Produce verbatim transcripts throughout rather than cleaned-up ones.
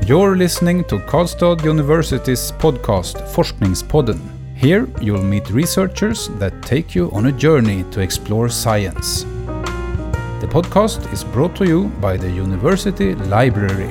You're listening to Karlstad University's podcast Forskningspodden. Here you'll meet researchers that take you on a journey to explore science. The podcast is brought to you by the University Library.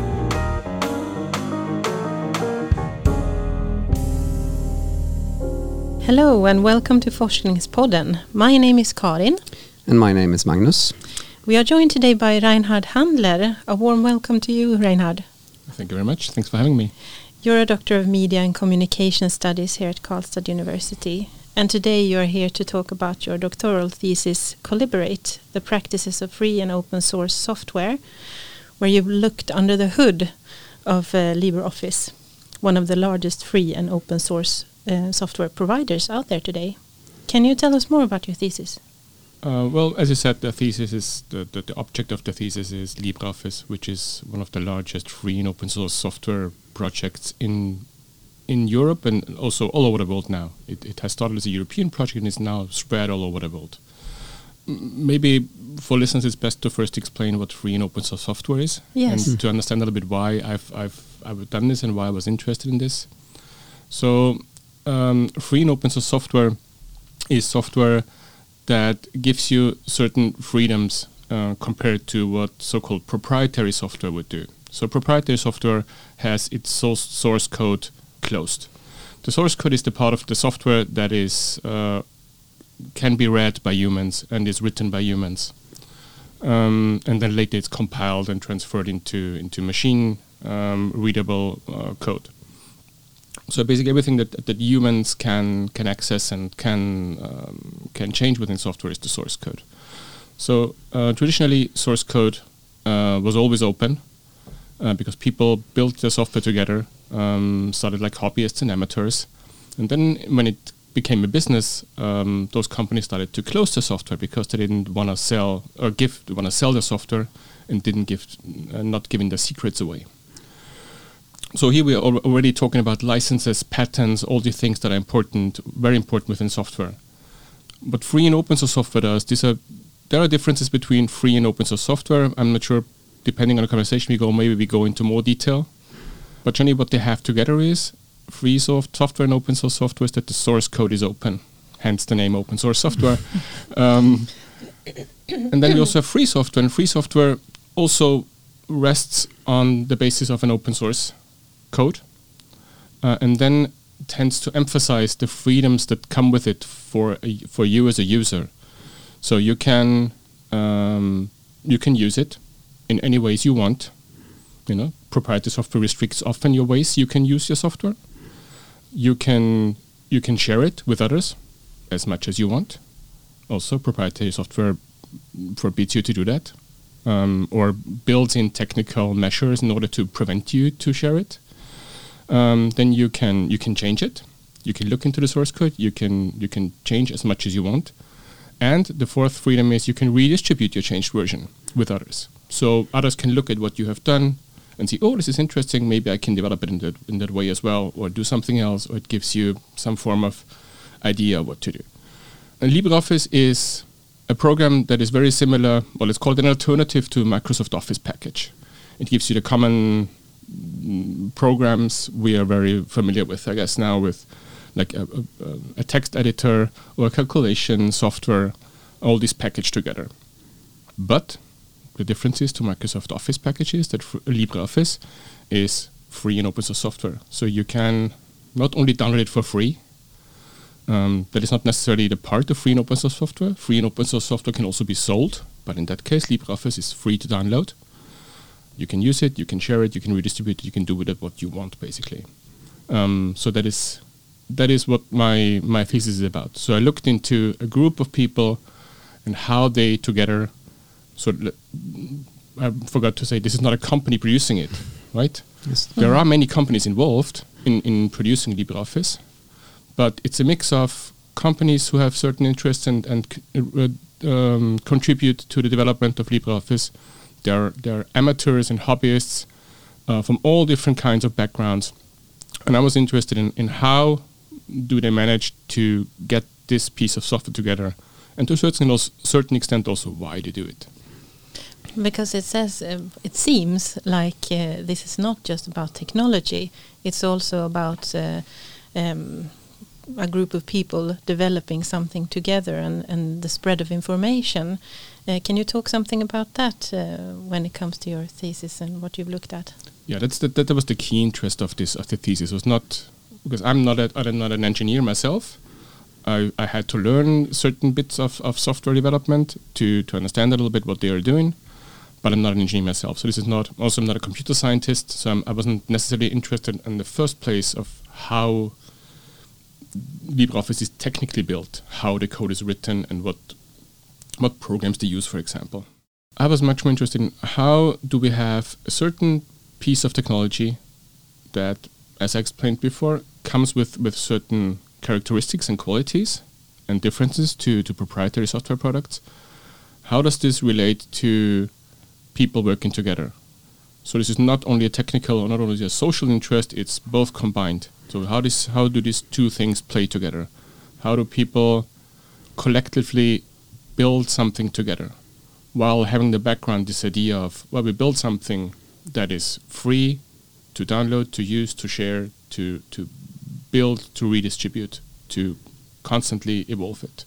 Hello and welcome to Forskningspodden. My name is Karin. And my name is Magnus. We are joined today by Reinhard Handler. A warm welcome to you, Reinhard. Thank you very much. Thanks for having me. You're a Doctor of Media and Communication Studies here at Karlstad University. And today you are here to talk about your doctoral thesis, Collaborate, the practices of free and open source software, where you've looked under the hood of uh, LibreOffice, one of the largest free and open source uh, software providers out there today. Can you tell us more about your thesis? Uh, well, as you said, the thesis is the, the, the object of the thesis is LibreOffice, which is one of the largest free and open source software projects in in Europe and also all over the world now. It, it has started as a European project and is now spread all over the world. M- maybe for listeners, it's best to first explain what free and open source software is, yes. and to understand a little bit why I've I've I've done this and why I was interested in this. So, um, free and open source software is software that gives you certain freedoms uh, compared to what so-called proprietary software would do. So proprietary software has its source, source code closed. The source code is the part of the software that is uh, can be read by humans and is written by humans. Um, and then later it's compiled and transferred into, into machine um, readable uh, code. So basically everything that that humans can can access and can um, can change within software is the source code. So uh, traditionally, source code uh, was always open uh, because people built the software together, um, started like hobbyists and amateurs, and then when it became a business, um, those companies started to close the software because they didn't want to sell or give want to sell the software and didn't give uh, not giving the secrets away. So here we are al- already talking about licenses, patents, all the things that are important, very important within software. But free and open source software does, these are, there are differences between free and open source software. I'm not sure, depending on the conversation we go, maybe we go into more detail. But generally what they have together is free soft software and open source software is that the source code is open, hence the name open source software. um, and then we also have free software, and free software also rests on the basis of an open source code, uh, and then tends to emphasize the freedoms that come with it for a, for you as a user. So you can um, you can use it in any ways you want. You know, proprietary software restricts often your ways you can use your software. You can you can share it with others as much as you want. Also, proprietary software forbids you to do that, um, or builds in technical measures in order to prevent you to share it. Um, then you can you can change it. You can look into the source code. You can you can change as much as you want. And the fourth freedom is you can redistribute your changed version with others. So others can look at what you have done and see, oh, this is interesting. Maybe I can develop it in that in that way as well, or do something else, or it gives you some form of idea of what to do. And LibreOffice is a program that is very similar. Well, it's called an alternative to Microsoft Office package. It gives you the common programs we are very familiar with, I guess, now with like a, a, a text editor or a calculation software, all these packaged together. But the difference is to Microsoft Office packages that f- LibreOffice is free and open source software. So you can not only download it for free, um, that is not necessarily the part of free and open source software. Free and open source software can also be sold, but in that case, LibreOffice is free to download. You can use it, you can share it, you can redistribute it, you can do with it what you want, basically. Um, so that is that is what my, my thesis is about. So I looked into a group of people and how they together, so l- I forgot to say, this is not a company producing it, right? Yes. There are many companies involved in, in producing LibreOffice, but it's a mix of companies who have certain interests and, and c- uh, um, contribute to the development of LibreOffice. They're, they're amateurs and hobbyists uh, from all different kinds of backgrounds. And I was interested in, in how do they manage to get this piece of software together, and to a certain, also, certain extent also why they do it. Because it says, uh, it seems like uh, this is not just about technology, it's also about uh, um, a group of people developing something together and, and the spread of information. Uh, can you talk something about that uh, when it comes to your thesis and what you've looked at? Yeah, that's the, that was the key interest of this of the thesis. It was not because I'm not a, I'm not an engineer myself. I, I had to learn certain bits of, of software development to, to understand a little bit what they are doing, but I'm not an engineer myself. So this is not, also I'm not a computer scientist, so I'm, I wasn't necessarily interested in the first place of how LibreOffice is technically built, how the code is written and what what programs they use, for example. I was much more interested in how do we have a certain piece of technology that, as I explained before, comes with, with certain characteristics and qualities and differences to, to proprietary software products. How does this relate to people working together? So this is not only a technical or not only a social interest, it's both combined. So how this how do these two things play together? How do people collectively build something together while having the background, this idea of, well, we build something that is free to download, to use, to share, to, to build, to redistribute, to constantly evolve it.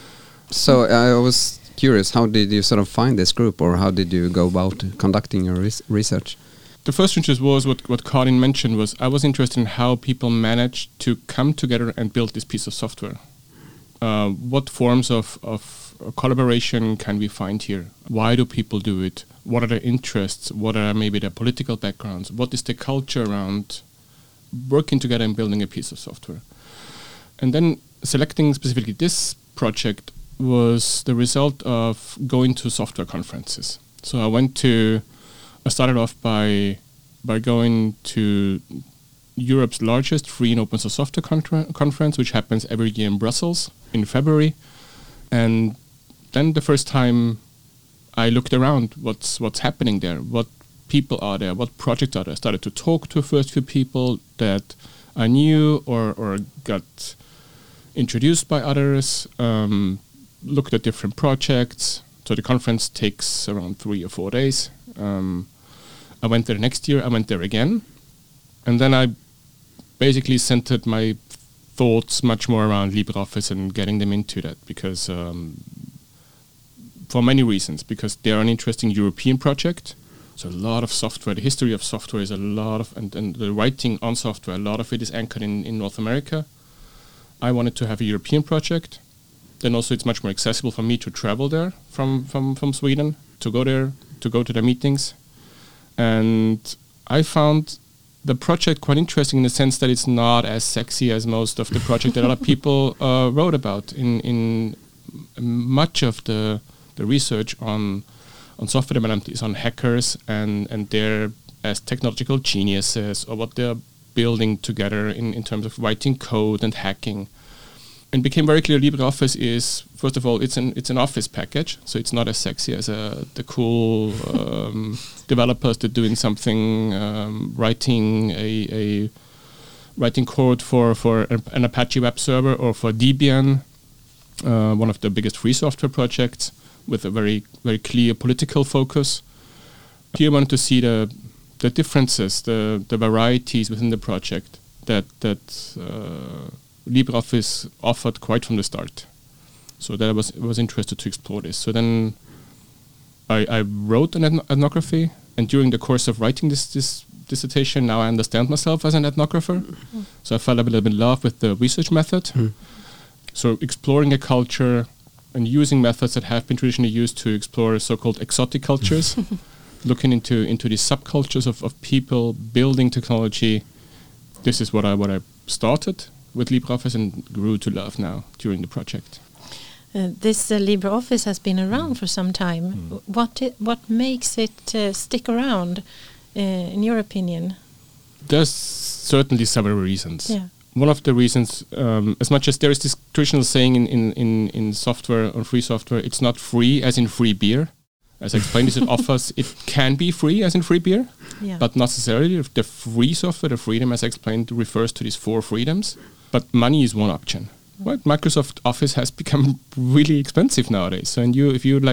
So uh, I was curious, how did you sort of find this group, or how did you go about conducting your res research? The first interest was what, what Karin mentioned was I was interested in how people managed to come together and build this piece of software. Uh, what forms of, of collaboration can we find here? Why do people do it? What are their interests? What are maybe their political backgrounds? What is the culture around working together and building a piece of software? And then selecting specifically this project was the result of going to software conferences. So I went to, I started off by by going to Europe's largest free and open source software contra- conference, which happens every year in Brussels in February. And then the first time I looked around, what's what's happening there, what people are there, what projects are there. I started to talk to first few people that I knew or, or got introduced by others, um, looked at different projects. So the conference takes around three or four days. Um, I went there next year, I went there again. And then I basically centered my thoughts much more around LibreOffice and getting them into that because um, for many reasons, because they're an interesting European project. So a lot of software, the history of software is a lot of, and, and the writing on software, a lot of it is anchored in, in North America. I wanted to have a European project. Then also it's much more accessible for me to travel there from, from, from Sweden, to go there, to go to the meetings. And I found the project quite interesting in the sense that it's not as sexy as most of the project that other people uh, wrote about. In in much of the the research on on software development is on hackers and and their as technological geniuses or what they're building together in, in terms of writing code and hacking. And became very clear LibreOffice is, first of all, it's an it's an office package, so it's not as sexy as uh, the cool um, developers that doing something, um, writing a, a writing code for for an Apache web server or for Debian, uh, one of the biggest free software projects with a very very clear political focus. Here, I wanted to see the the differences, the the varieties within the project that that. Uh, LibreOffice offered quite from the start. So that I was was interested to explore this. So then I, I wrote an ethno- ethnography, and during the course of writing this, this dissertation, now I understand myself as an ethnographer. Mm. So I fell a little bit in love with the research method. Mm. So exploring a culture and using methods that have been traditionally used to explore so-called exotic cultures, looking into into these subcultures of, of people building technology. This is what I what I started with LibreOffice and grew to love now during the project. Uh, this uh, LibreOffice has been around mm. for some time. Mm. What it, what makes it uh, stick around, uh, in your opinion? There's certainly several reasons. Yeah. One of the reasons, um, as much as there is this traditional saying in, in, in, in software or free software, it's not free as in free beer. As I explained, it offers, it can be free as in free beer, yeah. but not necessarily. The free software, the freedom, as I explained, refers to these four freedoms. But money is one option. Right? Microsoft Office has become really expensive nowadays. So, and you, if you like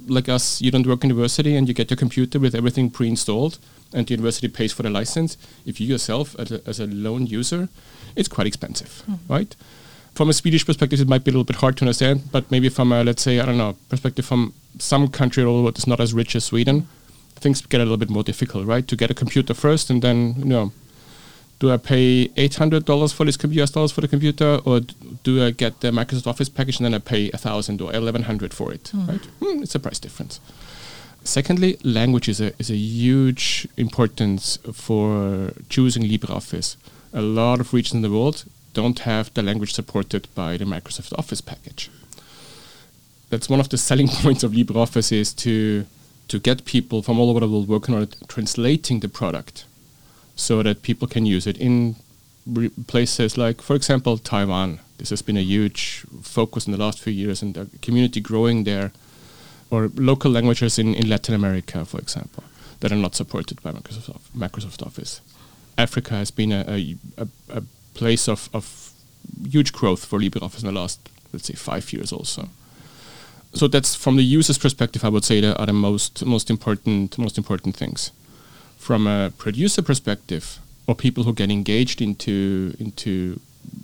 like us, you don't work in university and you get your computer with everything pre-installed and the university pays for the license. If you yourself, as a, as a lone user, it's quite expensive, mm. right? From a Swedish perspective, it might be a little bit hard to understand, but maybe from a, let's say, I don't know, perspective from some country that's not as rich as Sweden, things get a little bit more difficult, right? To get a computer first and then, you know, do I pay eight hundred dollars for this U S dollars for the computer, or d- do I get the Microsoft Office package and then I pay one thousand or eleven hundred for it, mm. right? Mm, it's a price difference. Secondly, language is a, is a huge importance for choosing LibreOffice. A lot of regions in the world don't have the language supported by the Microsoft Office package. That's one of the selling points of LibreOffice, is to to get people from all over the world working on it, translating the product so that people can use it in re- places like, for example, Taiwan. This has been a huge focus in the last few years, and the community growing there, or local languages in, in Latin America, for example, that are not supported by Microsoft, Microsoft Office. Africa has been a, a, a, a place of, of huge growth for LibreOffice in the last, let's say, five years also. So that's, from the user's perspective, I would say, that are the most most important most important things. From a producer perspective, or people who get engaged into into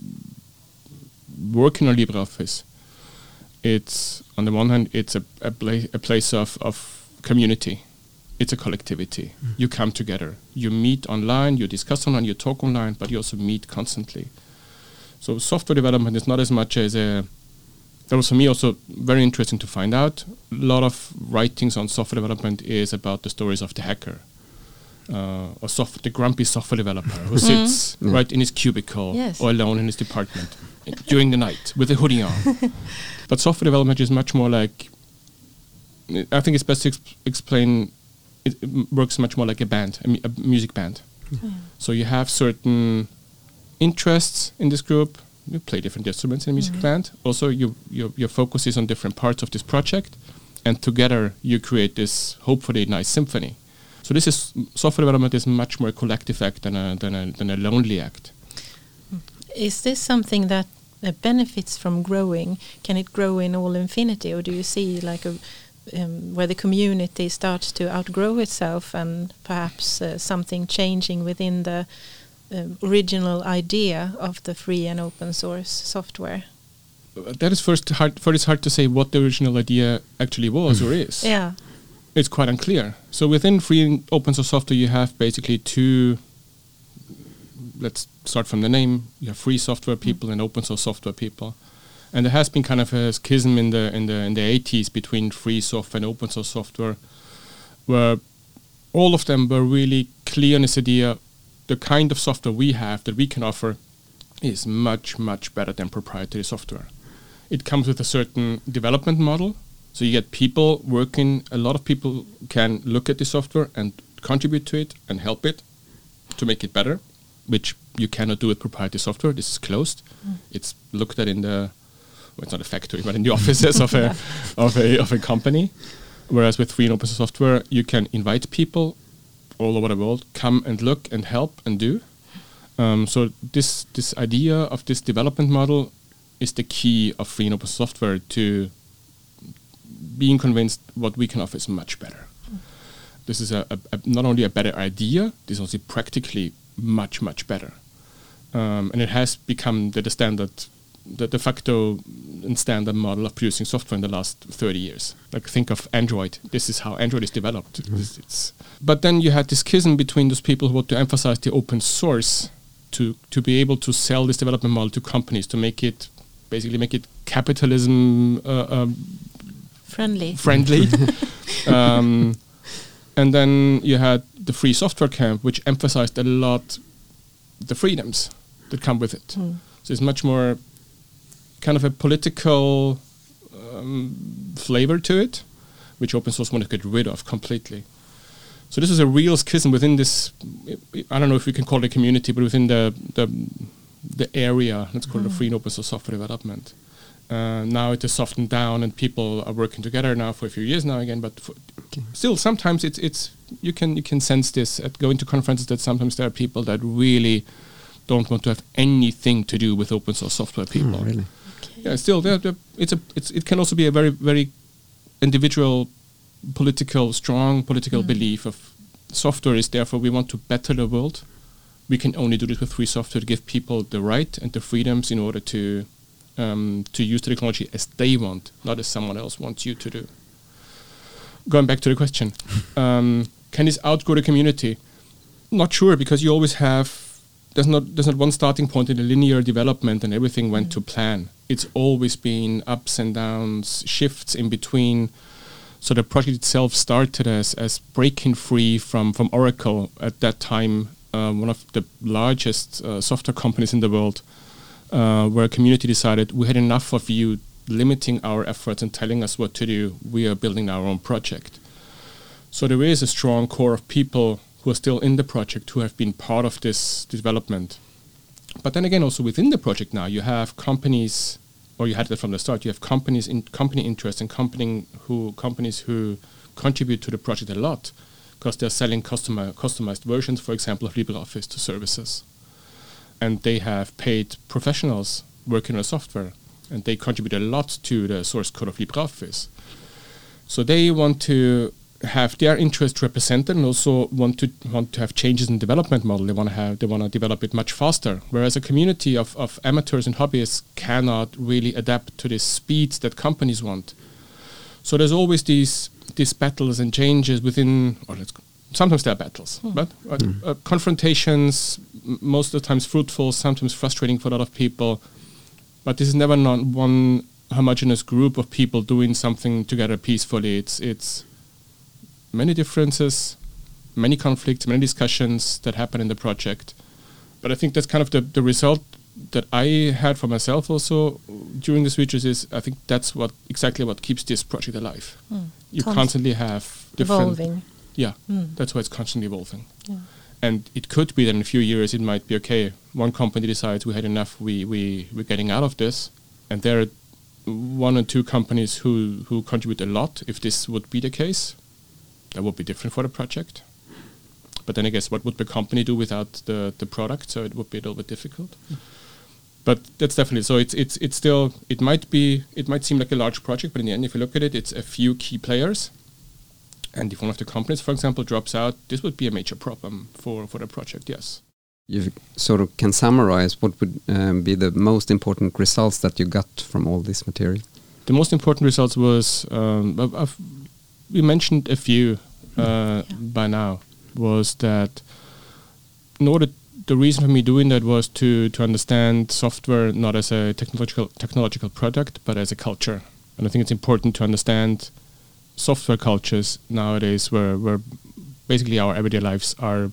working on LibreOffice, it's, on the one hand, it's a a, pla- a place of, of community. It's a collectivity. Mm. You come together. You meet online, you discuss online, you talk online, but you also meet constantly. So software development is not as much as a... That was for me also very interesting to find out. A lot of writings on software development is about the stories of the hacker, uh, or soft, the grumpy software developer who sits mm. right in his cubicle, yes, or alone in his department during the night with a hoodie on. But software development is much more like... I think it's best to exp- explain... It works much more like a band, a, mu- a music band. Mm. So you have certain interests in this group. You play different instruments in a music mm. band. Also, you, your your focus is on different parts of this project, and together you create this hopefully nice symphony. So this is software development is much more a collective act than a than a than a lonely act. Is this something that uh, benefits from growing? Can it grow in all infinity, or do you see like a Um, where the community starts to outgrow itself and perhaps uh, something changing within the um, original idea of the free and open source software? That is first hard. First, it's hard to say what the original idea actually was or is. Yeah, it's quite unclear. So within free and open source software, you have basically two. Let's start from the name. You have free software people mm. and open source software people. And there has been kind of a schism in the in the in the eighties between free software and open source software, where all of them were really clear on this idea: the kind of software we have that we can offer is much much better than proprietary software. It comes with a certain development model, so you get people working. A lot of people can look at the software and contribute to it and help it to make it better, which you cannot do with proprietary software. This is closed. Mm. It's looked at in the Well, it's not a factory, but in the offices of a of a of a company. Whereas with free and open source software, you can invite people all over the world, come and look and help and do. Um, so this this idea of this development model is the key of free and open software, to being convinced what we can offer is much better. Mm. This is a, a, a not only a better idea, this is also practically much much better, um, and it has become the, the standard. The de facto and standard model of producing software in the last thirty years. Like, think of Android. This is how Android is developed. Mm-hmm. It's, it's but then you had this schism between those people who want to emphasize the open source to to be able to sell this development model to companies, to make it, basically make it capitalism uh, um, friendly. Friendly. um, and then you had the free software camp, which emphasized a lot the freedoms that come with it. Mm. So it's much more kind of a political um, flavor to it, which open source wanted to get rid of completely. So this is a real schism within this, I don't know if we can call it a community, but within the the, the area, let's call mm. it a free and open source software development. Uh, now it is softened down and people are working together now for a few years now again, but for okay. still sometimes it's, it's you can you can sense this at going to conferences, that sometimes there are people that really don't want to have anything to do with open source software people. Mm, really? Yeah, still, they're, they're, it's a it's it can also be a very very individual political, strong political mm. belief of software is therefore we want to better the world. We can only do this with free software to give people the right and the freedoms in order to um, to use the technology as they want, not as someone else wants you to do. Going back to the question, um, can this outgrow the community? Not sure, because you always have, there's not there's not one starting point in the linear development and everything went mm. to plan. It's always been ups and downs, shifts in between. So the project itself started as, as breaking free from, from Oracle at that time, uh, one of the largest uh, software companies in the world, uh, where a community decided we had enough of you limiting our efforts and telling us what to do. We are building our own project. So there is a strong core of people who are still in the project, who have been part of this development. But then again, also within the project now, you have companies, or you had that from the start, you have companies in company interest and company who companies who contribute to the project a lot, because they're selling customer, customized versions, for example, of LibreOffice to services. And they have paid professionals working on the software, and they contribute a lot to the source code of LibreOffice. So they want to have their interest represented and also want to want to have changes in development model. They want to have they want to develop it much faster. Whereas a community of, of amateurs and hobbyists cannot really adapt to the speeds that companies want. So there's always these these battles and changes within, or let's sometimes there are battles, mm. but uh, mm. uh, confrontations, m- most of the times fruitful, sometimes frustrating for a lot of people. But this is never not one homogeneous group of people doing something together peacefully. It's it's many differences, many conflicts, many discussions that happen in the project. But I think that's kind of the, the result that I had for myself also during this research is I think that's what exactly what keeps this project alive. Mm. You Const- constantly have different... Evolving. Yeah, mm. that's why it's constantly evolving. Yeah. And it could be that in a few years it might be, okay, one company decides we had enough, we, we, we're getting out of this. And there are one or two companies who, who contribute a lot. If this would be the case, that would be different for the project. But then I guess what would the company do without the, the product? So it would be a little bit difficult. Mm. But that's definitely, so it's it's it's still, it might be, it might seem like a large project, but in the end, if you look at it, it's a few key players. And if one of the companies, for example, drops out, this would be a major problem for, for the project, yes. You sort of can summarize what would um, be the most important results that you got from all this material? The most important results was, um, I've, I've, we mentioned a few uh, yeah. by now, was that in order, the reason for me doing that was to, to understand software not as a technological technological product, but as a culture. And I think it's important to understand software cultures nowadays where, where basically our everyday lives are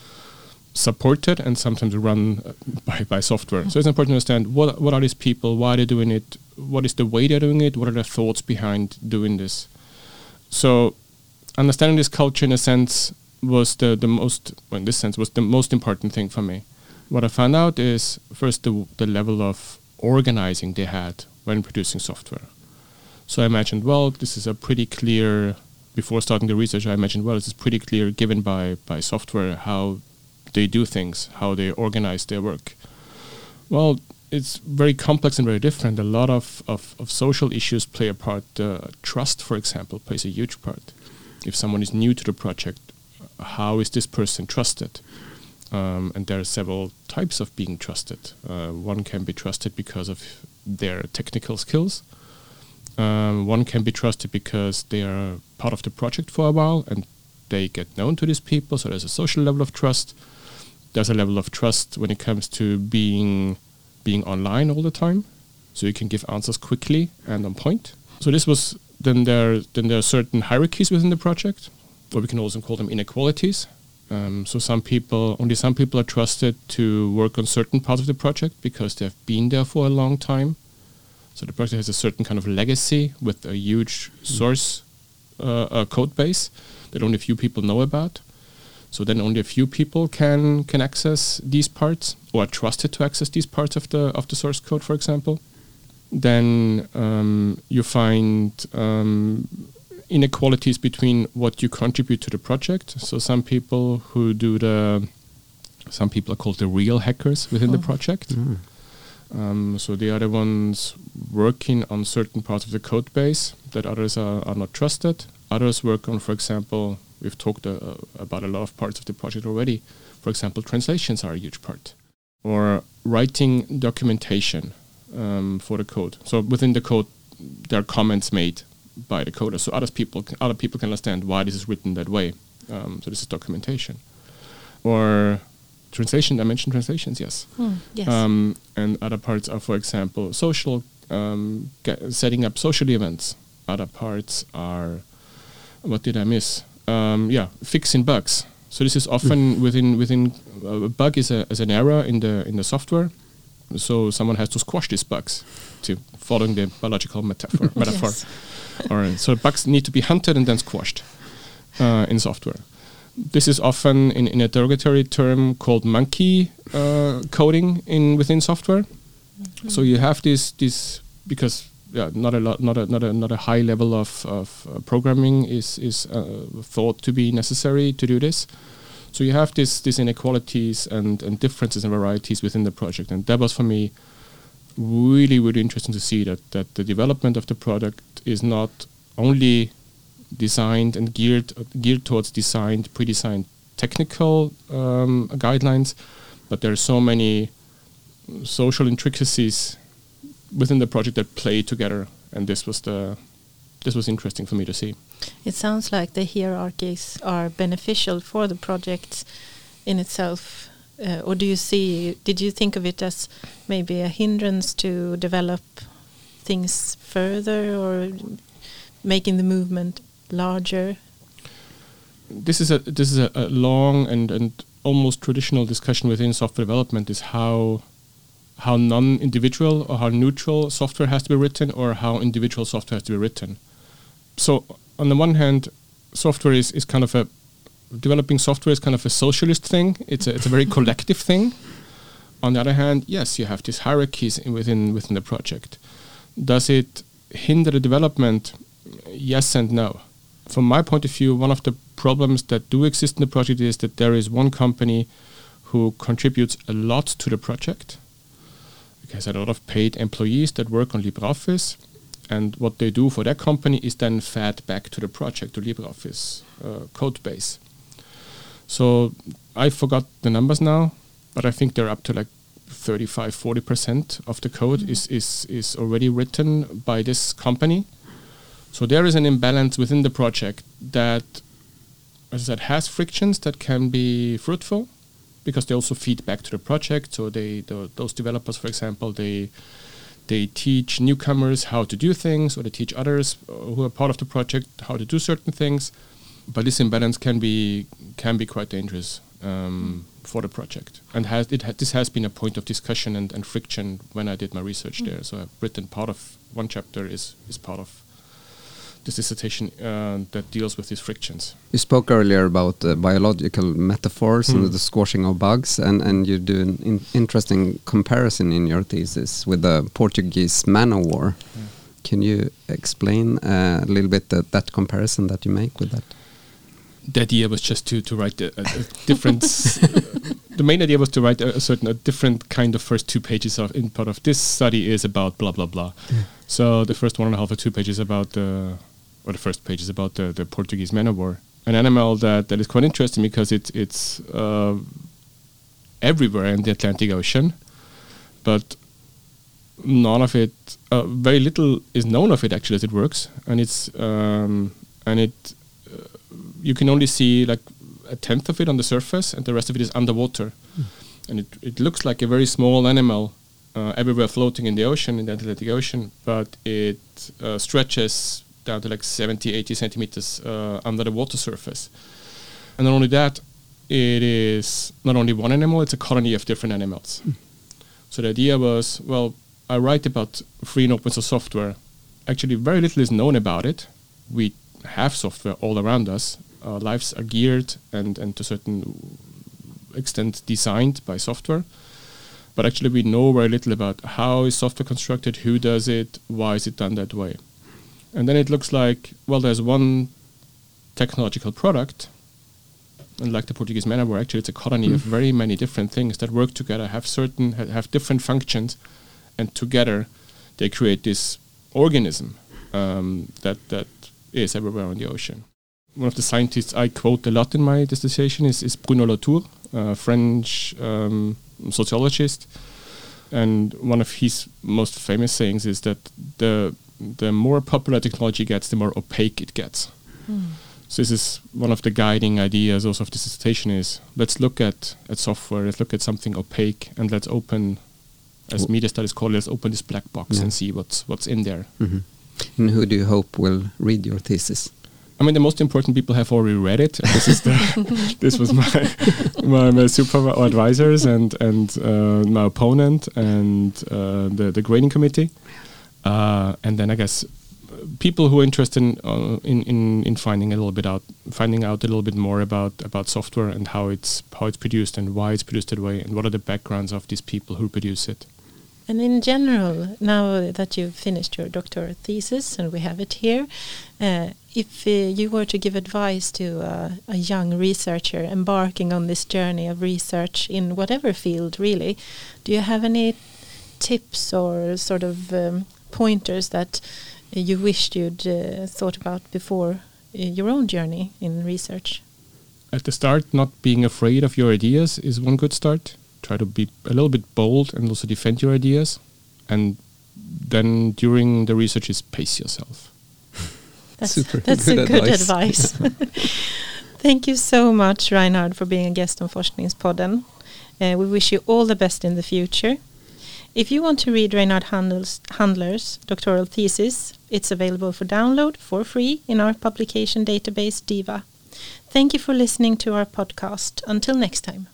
supported and sometimes run by, by software. Mm-hmm. So it's important to understand what what are these people, why are they doing it, what is the way they're doing it, what are their thoughts behind doing this. So understanding this culture in a sense was the, the most, well, in this sense, was the most important thing for me. What I found out is first the, the level of organizing they had when producing software. So I imagined, well, this is a pretty clear, before starting the research, I imagined, well, this is pretty clear given by, by software how they do things, how they organize their work. Well, it's very complex and very different. A lot of, of, of social issues play a part. Uh, trust, for example, plays a huge part. If someone is new to the project, how is this person trusted? Um, and there are several types of being trusted. Uh, one can be trusted because of their technical skills. Um, one can be trusted because they are part of the project for a while and they get known to these people, so there's a social level of trust. There's a level of trust when it comes to being being online all the time, so you can give answers quickly and on point. So this was, then there, then there are certain hierarchies within the project, or we can also call them inequalities. Um, so some people, only some people are trusted to work on certain parts of the project because they have been there for a long time. So the project has a certain kind of legacy with a huge mm. source uh, uh, code base that only a few people know about. So then only a few people can can access these parts or are trusted to access these parts of the of the source code, for example. Then um, you find um, inequalities between what you contribute to the project. So some people who do the, some people are called the real hackers within oh. the project. Mm. Um, so the other ones working on certain parts of the code base that others are, are not trusted. Others work on, for example, we've talked uh, about a lot of parts of the project already. For example, translations are a huge part. Or writing documentation um, for the code. So within the code, there are comments made by the coder, so other people, other people can understand why this is written that way. Um, so this is documentation. Or translation, I mentioned translations, yes. Mm, yes. Um, and other parts are, for example, social, um, setting up social events. Other parts are, what did I miss? Um, yeah, fixing bugs. So this is often within within uh, a bug is a is an error in the in the software. So someone has to squash these bugs, to following the biological metaphor. metaphor. Yes. Or so bugs need to be hunted and then squashed uh, in software. This is often in, in a derogatory term called monkey uh, coding in within software. Mm-hmm. So you have this this because yeah, not a lot, not a not a not a high level of of uh, programming is is uh, thought to be necessary to do this. So you have this these inequalities and and differences and varieties within the project, and that was for me really really interesting to see that that the development of the product is not only designed and geared uh, geared towards designed pre-designed technical um, guidelines, but there are so many social intricacies within the project that play together, and this was the this was interesting for me to see. It sounds like the hierarchies are beneficial for the project in itself, uh, or do you see? Did you think of it as maybe a hindrance to develop things further, or making the movement larger? This is a this is a, a long and and almost traditional discussion within software development is how. how non-individual or how neutral software has to be written, or how individual software has to be written. So on the one hand, software is, is kind of a, developing software is kind of a socialist thing. It's a, it's a very collective thing. On the other hand, yes, you have these hierarchies in within within the project. Does it hinder the development? Yes and no. From my point of view, one of the problems that do exist in the project is that there is one company who contributes a lot to the project. Has a lot of paid employees that work on LibreOffice, and what they do for that company is then fed back to the project, to LibreOffice uh, code base. So I forgot the numbers now, but I think they're up to like thirty-five, forty percent of the code mm-hmm. is, is, is already written by this company. So there is an imbalance within the project that, as I said, has frictions that can be fruitful, because they also feed back to the project. So they, the, those developers, for example, they they teach newcomers how to do things, or they teach others who are part of the project how to do certain things. But this imbalance can be can be quite dangerous um, for the project, and has it ha- this has been a point of discussion and, and friction when I did my research mm. there. So I've written part of one chapter is is part of this dissertation uh, that deals with these frictions. You spoke earlier about uh, biological metaphors mm. and the squashing of bugs, and, and you do an in interesting comparison in your thesis with the Portuguese man of war. Yeah. Can you explain uh, a little bit that, that comparison that you make with that? The idea was just to, to write a, a, a different... the main idea was to write a, a certain a different kind of first two pages of in part of this study is about blah, blah, blah. Yeah. So the first one and a half or two pages about the... or the first page is about the, the Portuguese man of war, an animal that, that is quite interesting because it, it's uh, everywhere in the Atlantic Ocean, but none of it, uh, very little is known of it actually as it works, and it's um, and it uh, you can only see like a tenth of it on the surface, and the rest of it is underwater, mm. and it it looks like a very small animal uh, everywhere floating in the ocean, in the Atlantic Ocean, but it uh, stretches down to like seventy, eighty centimeters uh, under the water surface. And not only that, it is not only one animal, it's a colony of different animals. Mm. So the idea was, well, I write about free and open source software. Actually, very little is known about it. We have software all around us. Our lives are geared and, and to a certain extent designed by software. But actually, we know very little about how is software constructed, who does it, why is it done that way. And then it looks like, well, there's one technological product, and like the Portuguese man of war, actually it's a colony mm. of very many different things that work together, have certain, ha- have different functions, and together they create this organism um, that that is everywhere on the ocean. One of the scientists I quote a lot in my dissertation is, is Bruno Latour, a French um, sociologist. And one of his most famous sayings is that the the more popular technology gets, the more opaque it gets. Mm. So this is one of the guiding ideas also of this dissertation is, let's look at, at software, let's look at something opaque, and let's open, as media studies call it, let's open this black box yeah. and see what's what's in there. Mm-hmm. And who do you hope will read your thesis? I mean, the most important people have already read it. This is the this was my my, my super advisors and and uh, my opponent and uh, the the grading committee, uh, and then I guess people who are interested in, uh, in in in finding a little bit out, finding out a little bit more about about software and how it's how it's produced and why it's produced that way and what are the backgrounds of these people who produce it. And in general, now that you've finished your doctoral thesis and we have it here, uh, if uh, you were to give advice to uh, a young researcher embarking on this journey of research in whatever field, really, do you have any tips or sort of um, pointers that you wished you'd uh, thought about before uh, your own journey in research? At the start, not being afraid of your ideas is one good start. Try to be a little bit bold and also defend your ideas. And then during the research is pace yourself. That's, Super that's good a good advice. advice. Thank you so much, Reinhard, for being a guest on Forskningspodden. Uh, we wish you all the best in the future. If you want to read Reinhard Handler's, Handler's doctoral thesis, it's available for download for free in our publication database, DIVA. Thank you for listening to our podcast. Until next time.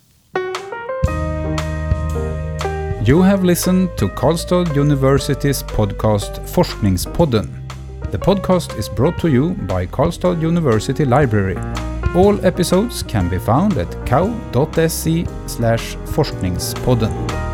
You have listened to Karlstad University's podcast Forskningspodden. The podcast is brought to you by Karlstad University Library. All episodes can be found at k a u dot s e slash forskningspodden.